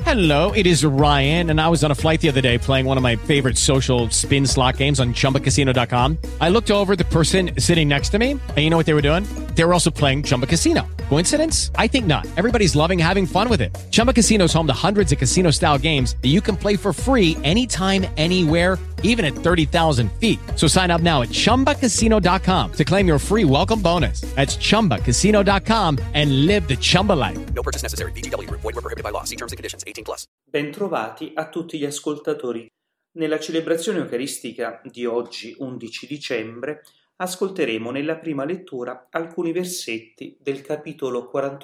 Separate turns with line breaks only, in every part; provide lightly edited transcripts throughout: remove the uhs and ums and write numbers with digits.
Hello, it is Ryan, and I was on a flight the other day playing one of my favorite social spin slot games on ChumbaCasino.com. I looked over at the person sitting next to me, and you know what they were doing? They were also playing Chumba Casino. Coincidence? I think not. Everybody's loving having fun with it. Chumba Casino is home to hundreds of casino-style games that you can play for free anytime, anywhere, even at 30,000 feet. So sign up now at ChumbaCasino.com to claim your free welcome bonus. That's ChumbaCasino.com and live the Chumba life.
No purchase necessary. VGW. Void where prohibited by law. See terms and conditions. 18+.
Bentrovati a tutti gli ascoltatori. Nella celebrazione eucaristica di oggi, 11 dicembre, ascolteremo nella prima lettura alcuni versetti del capitolo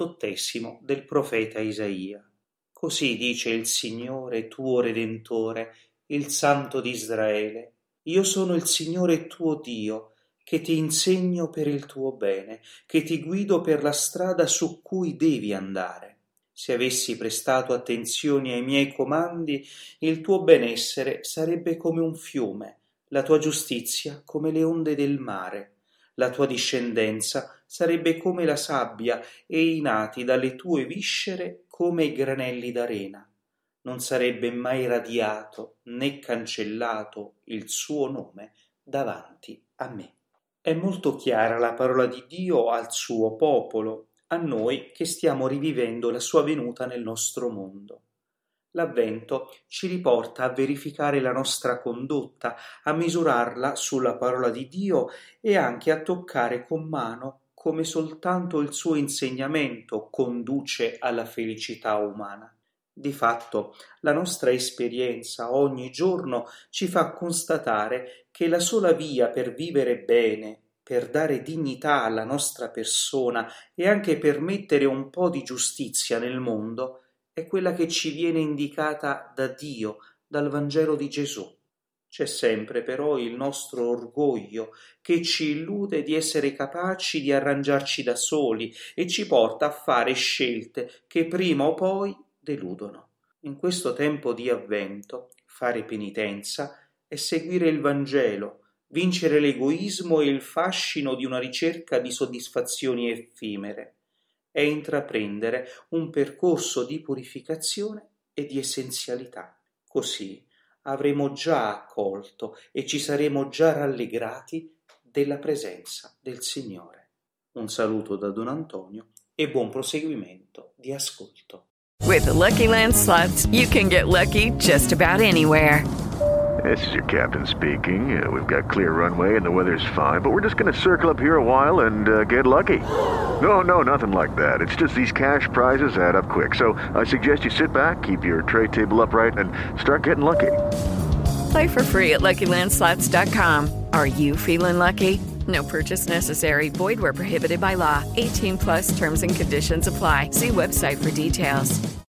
48 del profeta Isaia. Così dice il Signore tuo Redentore, il Santo di Israele: Io sono il Signore tuo Dio, che ti insegno per il tuo bene, che ti guido per la strada su cui devi andare. Se avessi prestato attenzione ai miei comandi, il tuo benessere sarebbe come un fiume, la tua giustizia come le onde del mare. La tua discendenza sarebbe come la sabbia e i nati dalle tue viscere come i granelli d'arena. Non sarebbe mai radiato né cancellato il suo nome davanti a me. È molto chiara la parola di Dio al suo popolo, a noi che stiamo rivivendo la sua venuta nel nostro mondo. L'Avvento ci riporta a verificare la nostra condotta, a misurarla sulla parola di Dio e anche a toccare con mano come soltanto il suo insegnamento conduce alla felicità umana. Di fatto, la nostra esperienza ogni giorno ci fa constatare che la sola via per vivere bene, per dare dignità alla nostra persona e anche per mettere un po' di giustizia nel mondo, è quella che ci viene indicata da Dio, dal Vangelo di Gesù. C'è sempre però il nostro orgoglio che ci illude di essere capaci di arrangiarci da soli e ci porta a fare scelte che prima o poi deludono. In questo tempo di Avvento, fare penitenza è seguire il Vangelo, vincere l'egoismo e il fascino di una ricerca di soddisfazioni effimere, è intraprendere un percorso di purificazione e di essenzialità. Così avremo già accolto e ci saremo già rallegrati della presenza del Signore. Un saluto da Don Antonio e buon proseguimento di ascolto.
With the Lucky Land Slots, you can get lucky just about anywhere.
This is your captain speaking. We've got clear runway and the weather's fine, but we're just going to circle up here a while and get lucky. No, nothing like that. It's just these cash prizes add up quick. So I suggest you sit back, keep your tray table upright, and start getting lucky.
Play for free at LuckyLandSlots.com. Are you feeling lucky? No purchase necessary. Void where prohibited by law. 18+ terms and conditions apply. See website for details.